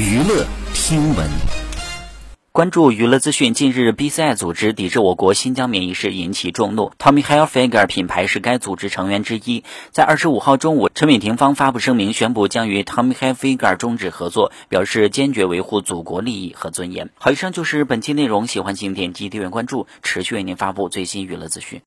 娱乐听闻。 关注娱乐资讯，近日 BCI 组织抵制我国新疆棉一事引起众怒。Tommy Hilfiger 品牌是该组织成员之一。在25号中午，陈伟霆方发布声明，宣布将与 Tommy Hilfiger 终止合作，表示坚决维护祖国利益和尊严。好，以上就是本期内容，喜欢请点击订阅关注，持续为您发布最新娱乐资讯。